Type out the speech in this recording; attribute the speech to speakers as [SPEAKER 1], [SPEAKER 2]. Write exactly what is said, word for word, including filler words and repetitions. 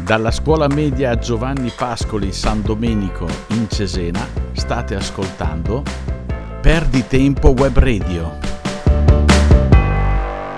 [SPEAKER 1] Dalla scuola media Giovanni Pascoli San Domenico in Cesena state ascoltando Perdi Tempo Web Radio.